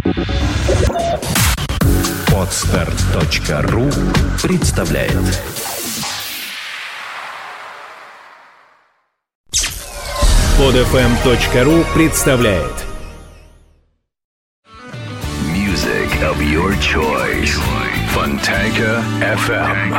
Podster.ru представляет. Podfm.ru представляет. Music of your choice. Fontanka FM.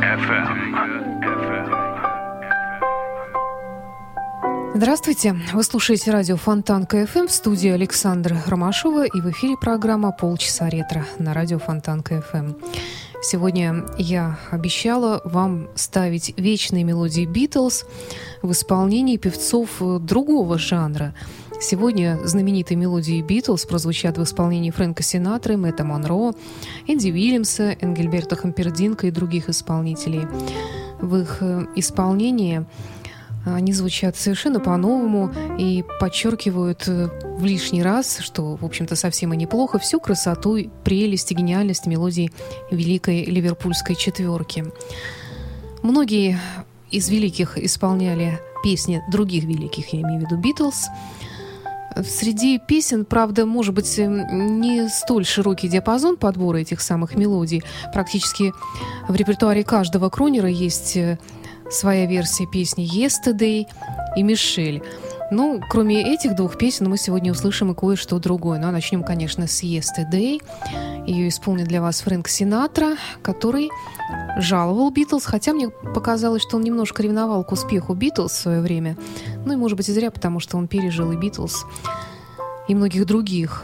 Здравствуйте! Вы слушаете радио Фонтанка FM, в студии Александра Ромашова, и в эфире программа «Полчаса ретро» на радио Фонтанка FM. Сегодня я обещала вам ставить вечные мелодии Битлз в исполнении певцов другого жанра. Сегодня знаменитые мелодии Битлз прозвучат в исполнении Фрэнка Синатры, Мэтта Монро, Энди Уильямса, Энгельберта Хампердинка и других исполнителей. В их исполнении они звучат совершенно по-новому и подчеркивают в лишний раз, что, в общем-то, совсем и неплохо, всю красоту, прелесть и гениальность мелодий великой ливерпульской четверки. Многие из великих исполняли песни других великих, я имею в виду Битлз. Среди песен, правда, может быть, не столь широкий диапазон подбора этих самых мелодий. Практически в репертуаре каждого кронера есть своя версия песни «Yesterday» и «Мишель». Ну, кроме этих двух песен, мы сегодня услышим и кое-что другое. Ну, а начнем, конечно, с «Yesterday». Ее исполнит для вас Фрэнк Синатра, который жаловал Битлз, хотя мне показалось, что он немножко ревновал к успеху Битлз в свое время. Ну, и, может быть, и зря, потому что он пережил и Битлз, и многих других.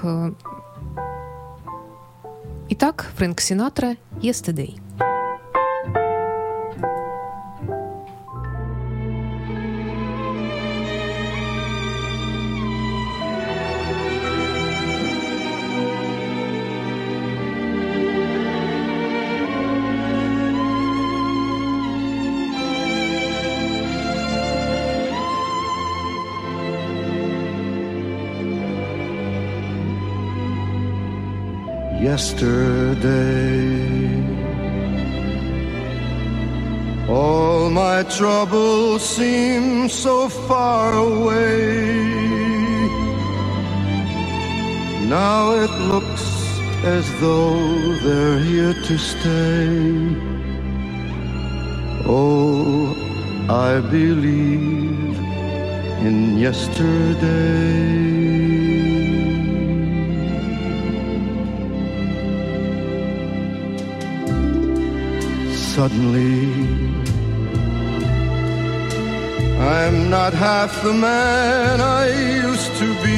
Итак, Фрэнк Синатра «Yesterday». Yesterday, all my troubles seem so far away. Now it looks as though they're here to stay. Oh, I believe in yesterday. Suddenly, I'm not half the man I used to be.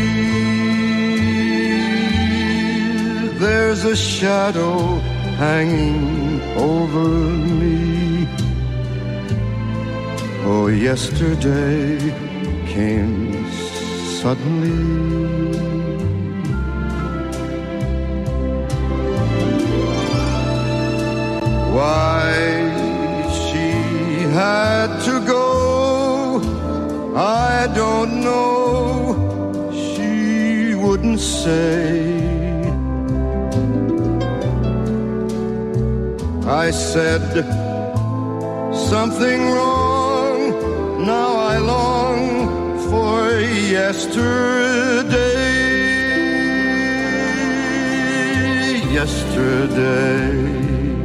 There's a shadow hanging over me. Oh, yesterday came suddenly. Why she had to go, I don't know. She wouldn't say. I said something wrong. Now I long for yesterday. Yesterday,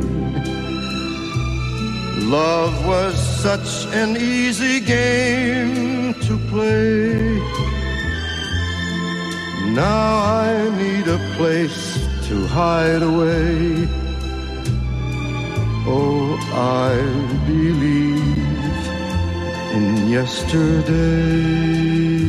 love was such an easy game to play. Now I need a place to hide away. Oh, I believe in yesterday.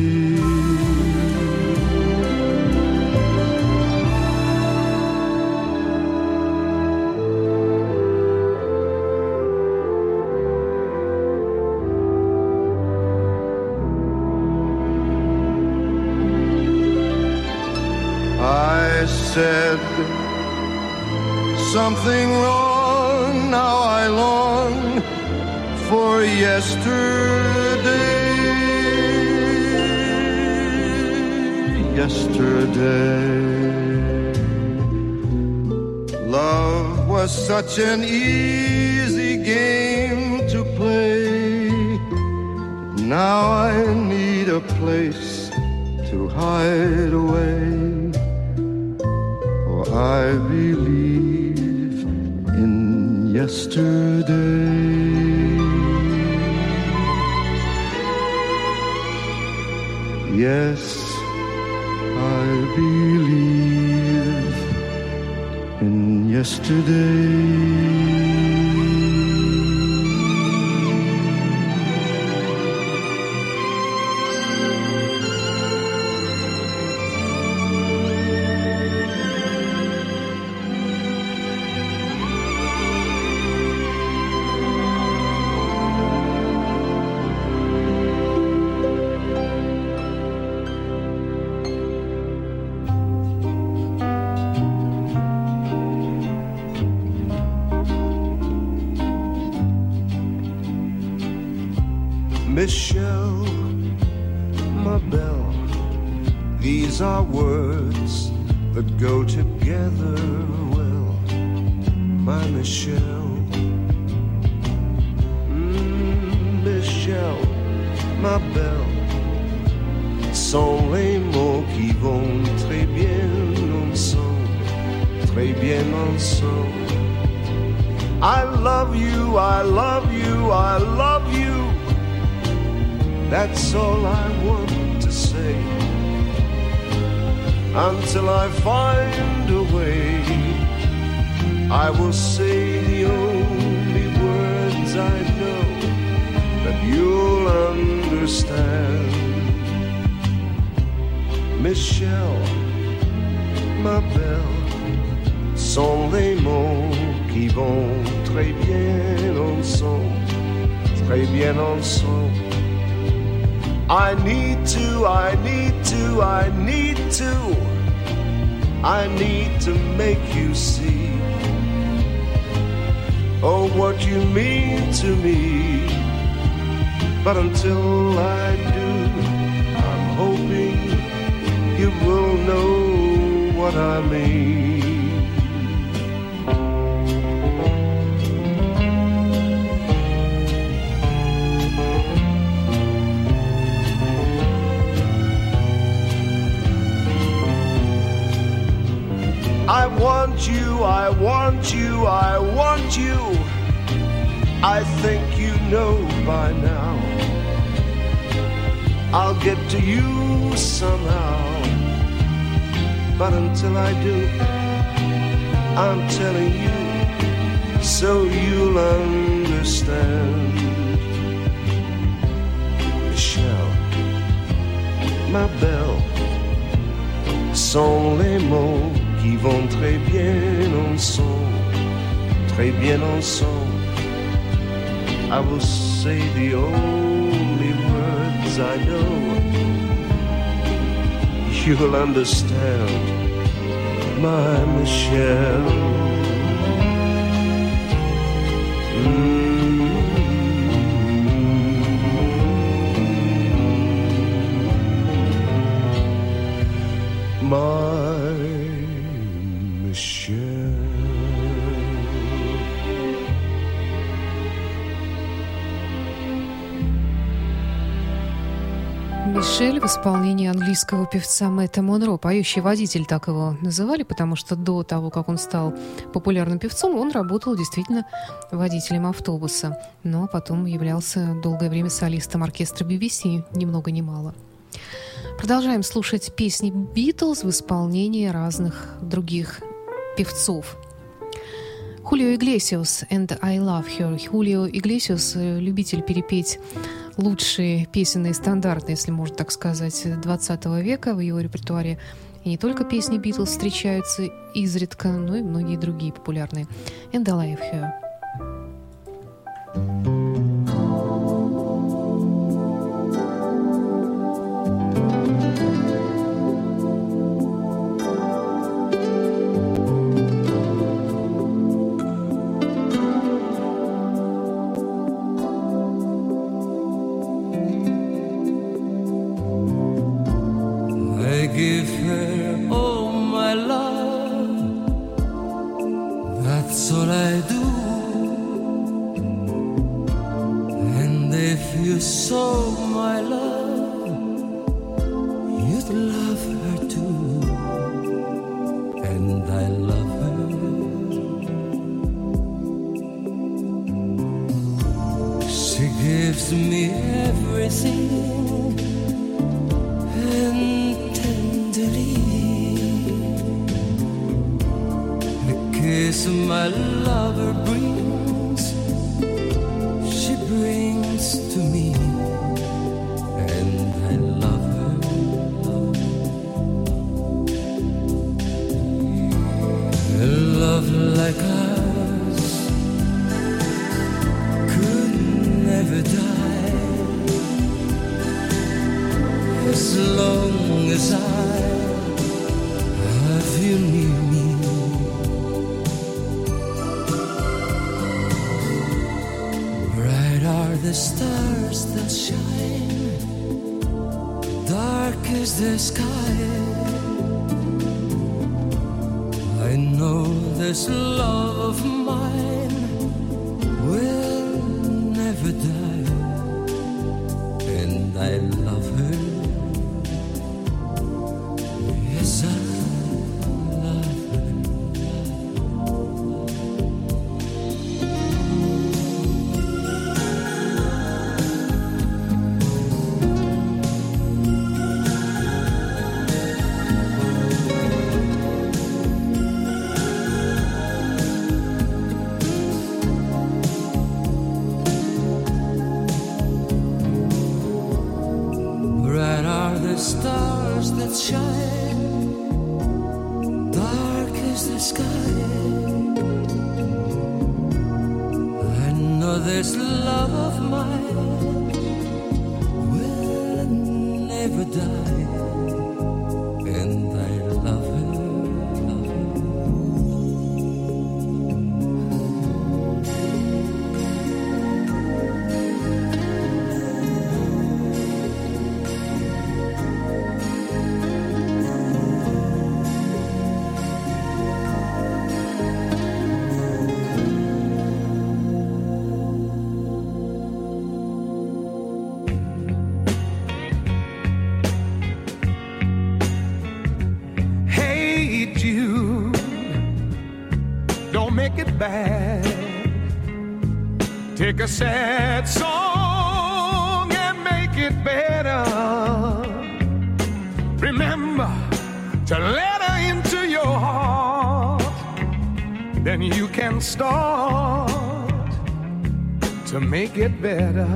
Said something wrong. Now I long for yesterday. Yesterday, love was such an easy game to play. Now I need a place to hide away. for I believe in yesterday. Yes, I believe in yesterday. Michelle, ma belle, these are words that go together well, my Michelle. Michelle, ma belle, sont les mots qui vont très bien ensemble, très bien ensemble. I love you, I love you, I love you. That's all I want to say, until I find a way. I will say the only words I know that you'll understand. Michelle, ma belle, sont les mots qui vont très bien ensemble, très bien ensemble. I need to, I need to, I need to, I need to make you see, oh, what you mean to me. But until I do, I'm hoping you will know what I mean. I want you, I want you, I want you. I think you know by now. I'll get to you somehow. But until I do, I'm telling you so you'll understand. Michelle, ma belle, sont les mots qui vont très bien ensemble, très bien ensemble. I will say the only words I know. You'll understand, my Michelle. My Michelle. Мишель в исполнении английского певца Мэтта Монро. Поющий водитель, так его называли, потому что до того, как он стал популярным певцом, он работал действительно водителем автобуса. Но потом являлся долгое время солистом оркестра BBC, ни много ни мало. Продолжаем слушать песни Битлз в исполнении разных других певцов. Хулио Иглесиас and I Love Her. Хулио Иглесиас – любитель перепеть лучшие песенные стандарты, если можно так сказать, 20 века. В его репертуаре и не только песни Битлз встречаются изредка, но и многие другие популярные. And I Love Her. Give her all my love, that's all I do. And if you saw my love, you'd love her too. and I love her. She gives me everything, and tenderly the kiss my lover brings, she brings to me, and I love her. A love like ours could never die, as long as I have you near me. Bright are the stars that shine, dark is the sky. I know this love of mine will never die, and I love her. Yes, I love her. Bright are the stars that shine, dark is the sky. I know this love of mine will never die, and I love her. Hey Jude, don't make it bad. Take a sad song and make it better. Remember to let her into your heart, then you can start to make it better.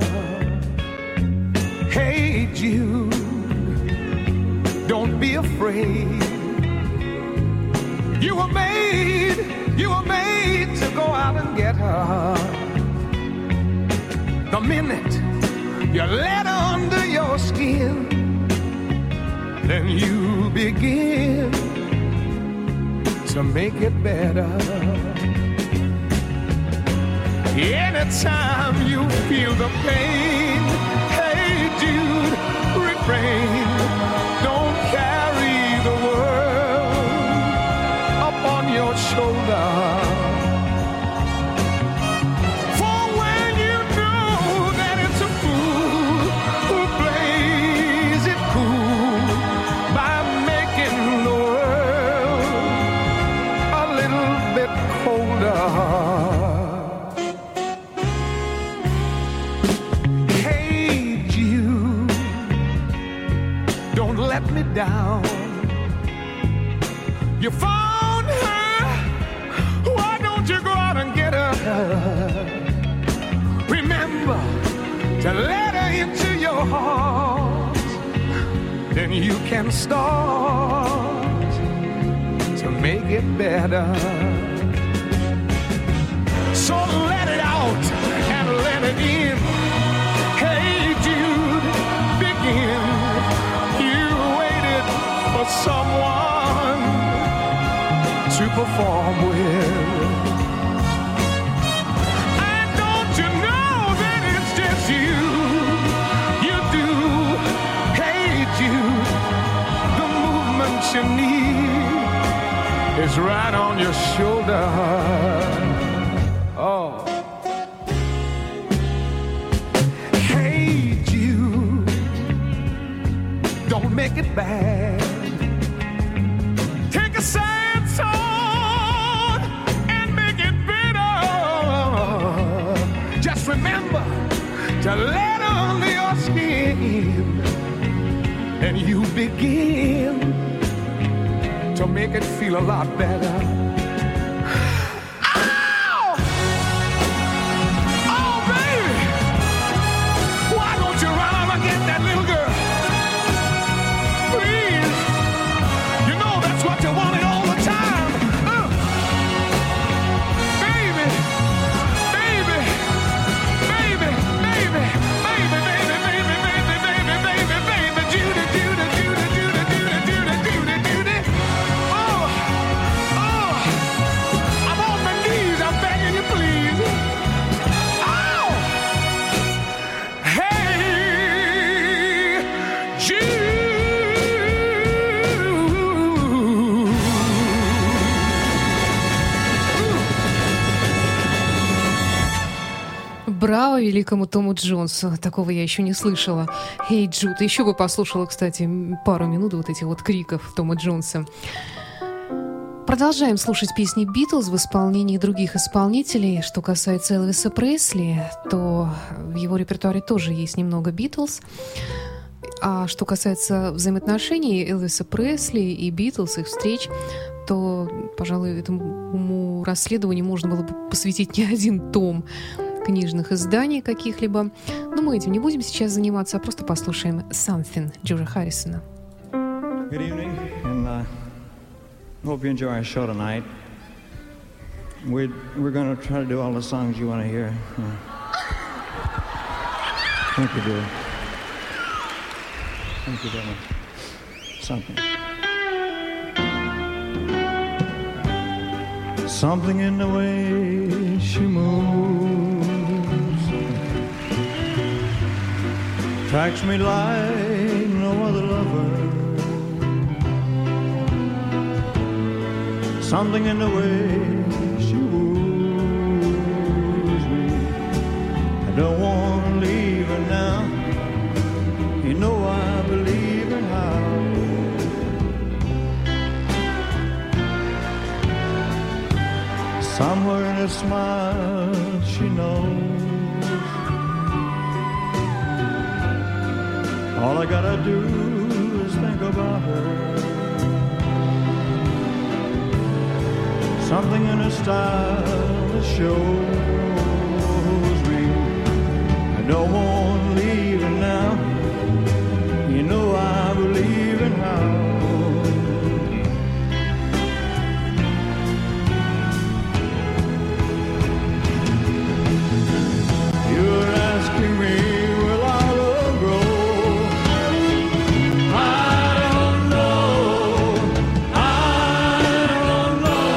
Hey Jude, don't be afraid. You were made to go out and get her. The minute you let her under your skin, then you begin to make it better. Anytime you feel the pain, hey Jude, refrain. Don't carry the world up on your shoulder. For when you know that it's a fool who plays it cool by making the world a little bit colder. Hey Jude, don't let me down. You found her, why don't you go out and get her? Remember to let her into your heart, then you can start to make it better. So let it out and let it in. Hey Jude, begin. You waited for someone to perform with. And don't you know that it's just you? You do. Hey Jude, the movement you need is right on your shoulder. Oh. Hey Jude, don't make it bad. Take a sad song make it feel a lot better. Браво великому Тому Джонсу. Такого я еще не слышала. «Эй, Джуд». Еще бы послушала, кстати, пару минут вот этих вот криков Тома Джонса. Продолжаем слушать песни «Битлз» в исполнении других исполнителей. Что касается Элвиса Пресли, то в его репертуаре тоже есть немного «Битлз». А что касается взаимоотношений Элвиса Пресли и «Битлз», их встреч, то, пожалуй, этому расследованию можно было бы посвятить не один том книжных изданий каких-либо. Но мы этим не будем сейчас заниматься, а просто послушаем «Something» Джорджа Харрисона. Good evening, and hope you enjoy our show tonight. We're going to try to do all the songs you want to hear. Thank you, dear. Thank you very much. Something in the way she moves attracts me like no other lover. Something in the way she woos me. I don't want to leave her now. You know I believe in how. Somewhere in her smile she knows all I gotta do is think about her. Something in her style that shows me I don't want to leave her now. You know I believe in how. You're asking me, will our love grow? I don't know. I don't know.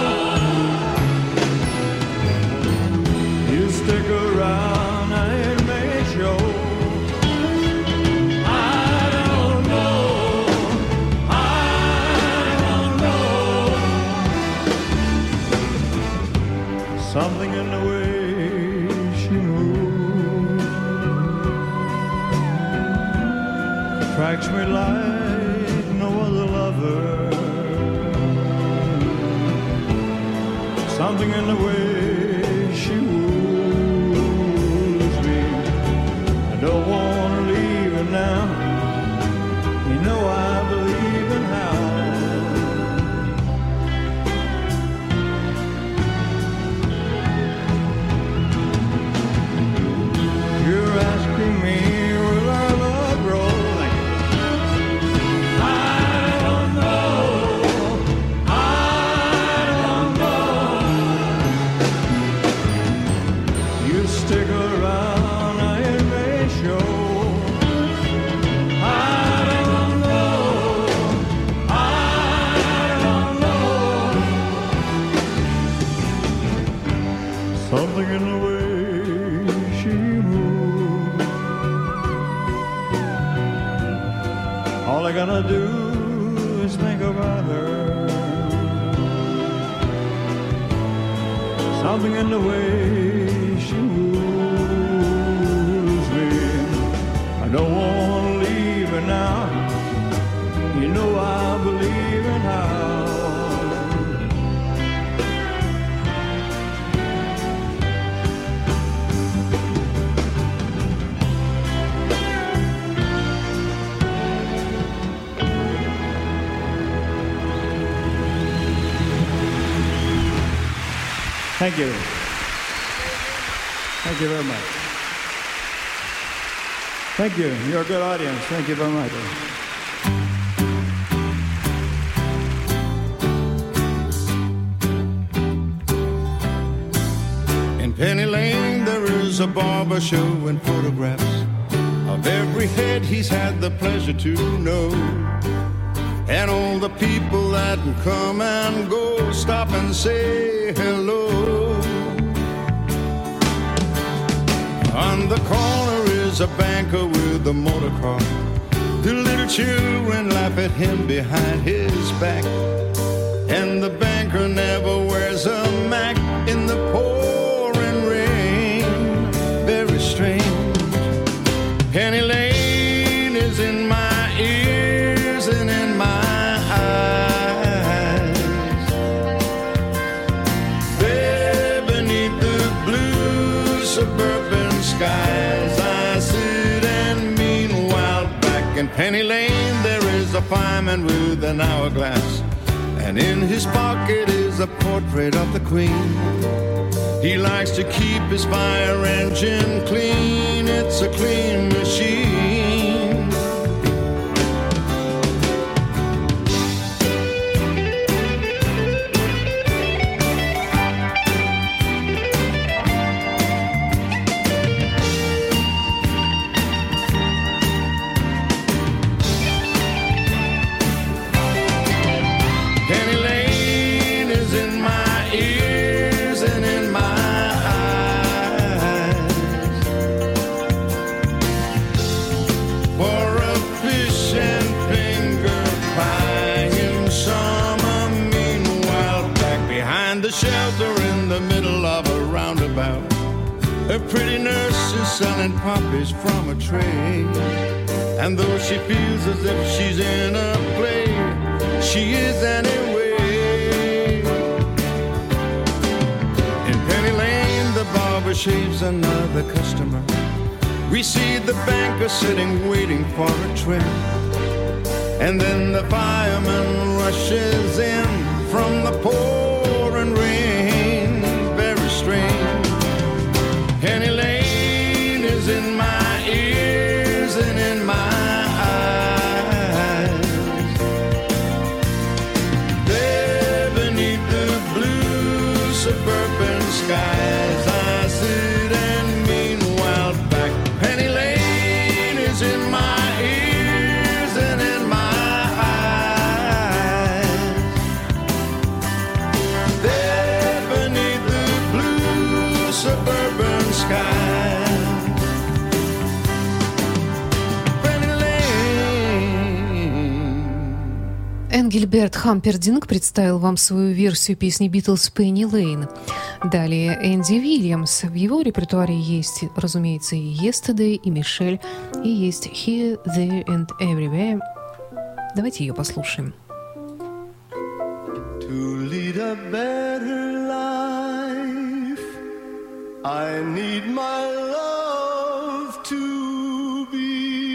You stick around and make sure. Something in the way she moves attracts me like no other lover. Something in the way she woos me. I don't want to leave her now. You know I believe in how. You're asking me, will our love grow? I don't know. I don't know. You stick around, I may show. I don't know. I don't know. Something in the way she moves. All I gotta do is think about her. Something in the way she moves me. I don't want to leave her now. You know I believe in how. Thank you. Thank you very much. Thank you. You're a good audience. Thank you very much. In Penny Lane there is a barber showing photographs of every head he's had the pleasure to know. And all the people that come and go stop and say hello. On the corner is a banker with a motor car. The little children laugh at him behind his back. And the banker never wears a Mac in the pouring rain. Very strange. Penny Lane is in my ears and in my eyes. There beneath the blue suburban skies I sit, and meanwhile back in Penny Lane there is a fireman with an hourglass, and in his pocket is a portrait of the Queen. He likes to keep his fire engine clean. It's a clean machine. Penny Lane is in my ears and in my eyes. For a fish and finger pie in summer, meanwhile back behind the shelter in the middle of a roundabout, a pretty nurse is selling poppies from a tray. And though she feels as if she's in a play, she is anyway. In Penny Lane the barber shaves another customer. We see the banker sitting waiting for a trim. And then the fireman rushes in from the pouring rain. Very strange. Penny Lane is in my ears and in my eyes. There beneath the blue suburban skies I sit, and meanwhile back Penny Lane is in my ears and in my eyes. There beneath the blue suburban skies. Энгельберт Хампердинг представил вам свою версию песни «Битлз» «Penny Lane». Далее Энди Вильямс. В его репертуаре есть, разумеется, и «Yesterday», и «Мишель», и есть «Here, There and Everywhere». Давайте ее послушаем. To lead a better life, I need my love to be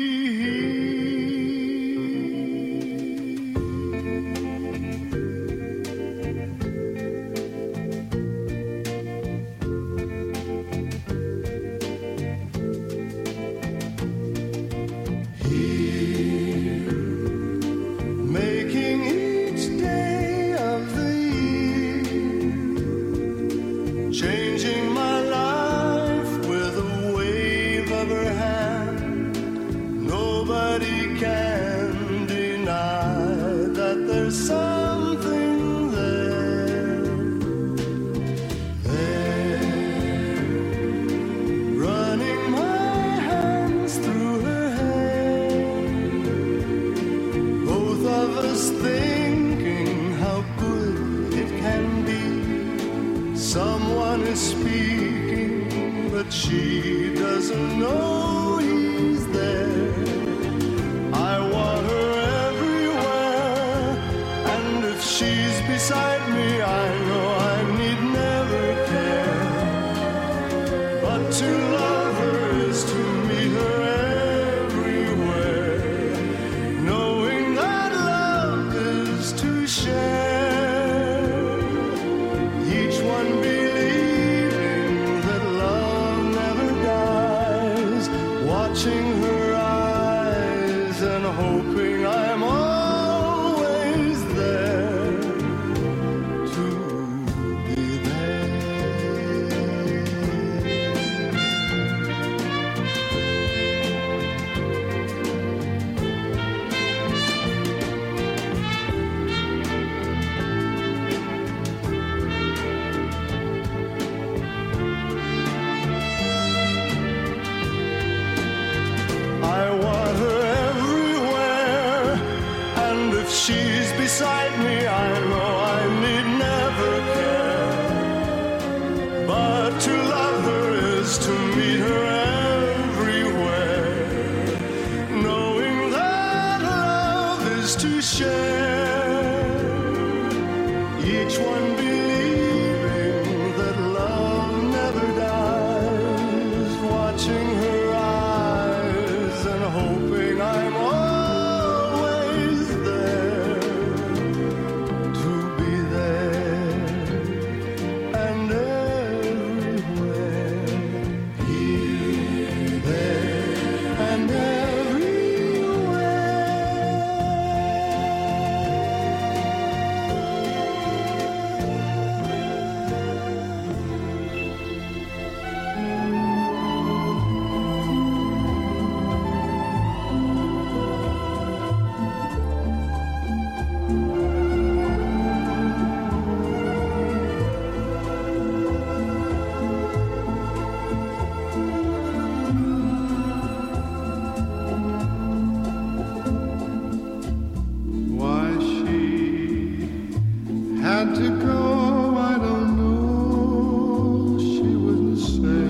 here, making each day of the year, changing my life with a wave of her hand. Nobody can deny that there's something there, running my hands through her hair, both of us thinking how good it can be. Someone is speaking, but she doesn't know he's there. I want her everywhere, and if she's beside me, I know I need never care. But to love her is to meet her everywhere, knowing that love is to share. Each one believes go, I don't know, she wouldn't say.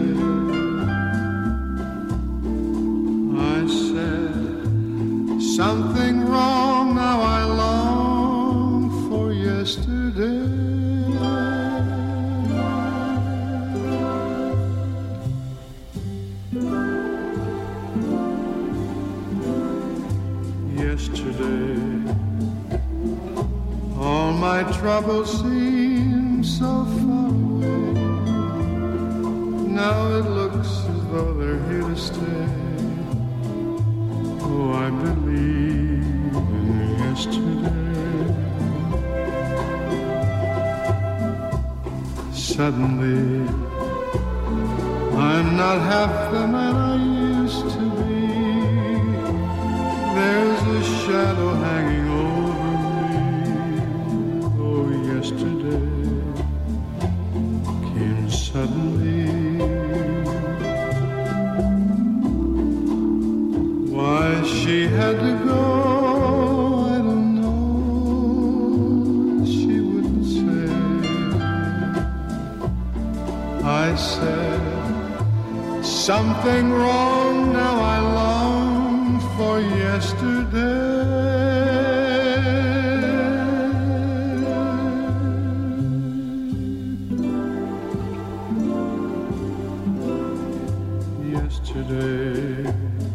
I said, something wrong, now I long for yesterday. Yesterday, all my troubles seem so far away. Now it looks as though they're here to stay. Oh, I believe in yesterday. Suddenly, I'm not half the man I used to be. There's a shadow hanging over me. Oh, yesterday came suddenly. Why she had to go, I don't know, she wouldn't say. I said, something wrong, now I long for yesterday. Yesterday,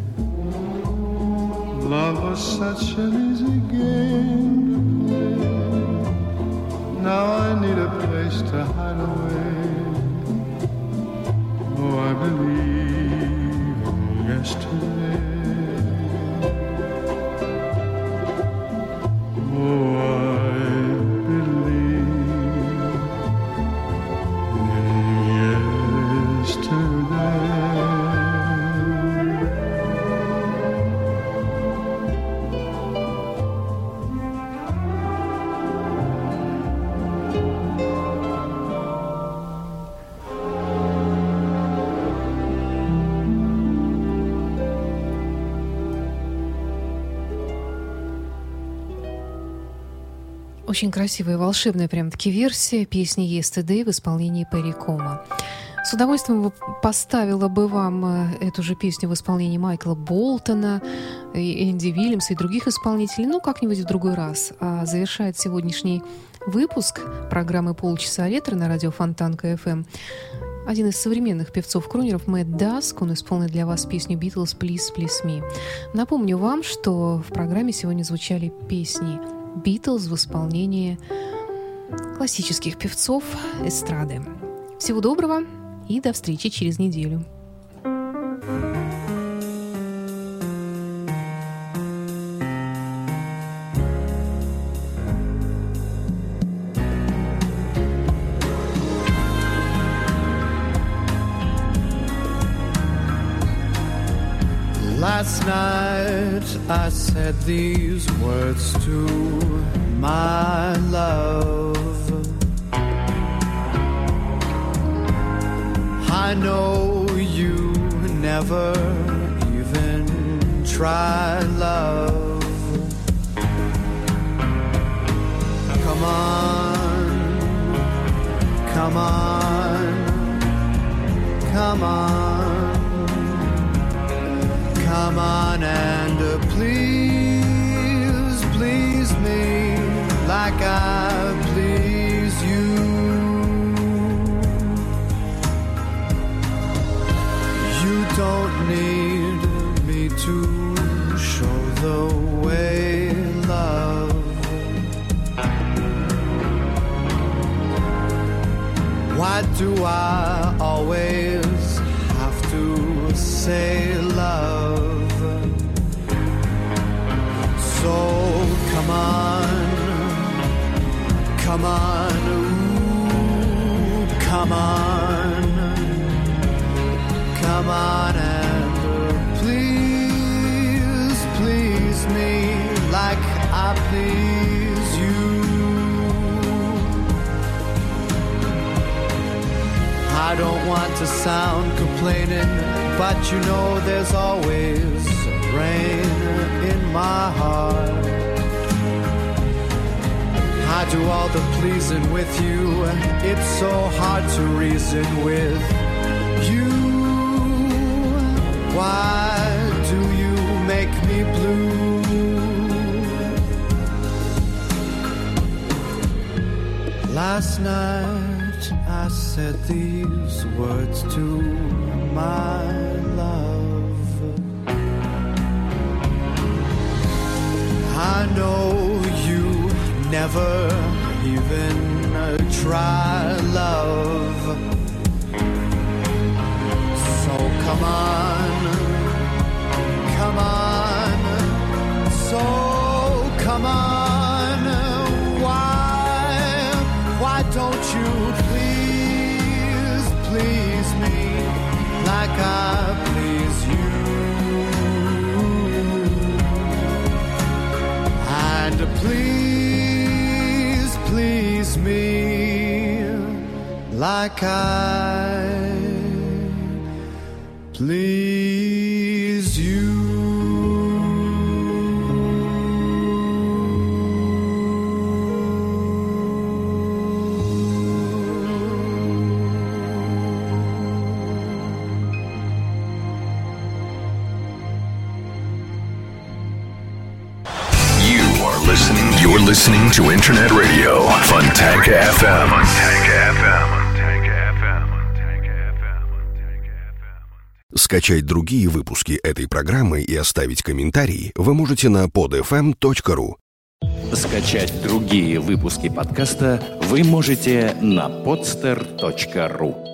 love was such an easy game to play. Now I need a place to hide away. Oh, I believe in yesterday. Очень красивая, волшебная прям-таки версия песни «Yesterday» в исполнении Перри Кома. С удовольствием поставила бы вам эту же песню в исполнении Майкла Болтона, Энди Уильямса и других исполнителей, но как-нибудь в другой раз. А завершает сегодняшний выпуск программы «Полчаса ретро» на радио Фонтанка FM один из современных певцов-крунеров Мэтт Даск. Он исполнит для вас песню «Beatles, Please, Please Me». Напомню вам, что в программе сегодня звучали песни «Beatles» в исполнении классических певцов эстрады. Всего доброго и до встречи через неделю. Last night I said these words to my love. I know you never even try love. Come on, come on, come on. Come on and please, please me like I please you. You don't need me to show the way, love. Why do I always have to say love? So come on, come on, ooh, come on, come on and please, please me like I please you. I don't want to sound complaining, but you know there's always rain in my heart. I do all the pleasing with you. It's so hard to reason with you. Why do you make me blue? Last night I said these words to my love. I know you never even try love. So come on, come on, so come on. Why don't you please, please me like I please you? And please, please me like I please you. You're listening to Internet Radio Fontanka FM. Скачать другие выпуски этой программы и оставить комментарии вы можете на podfm.ru. Скачать другие выпуски подкаста вы можете на podster.ru.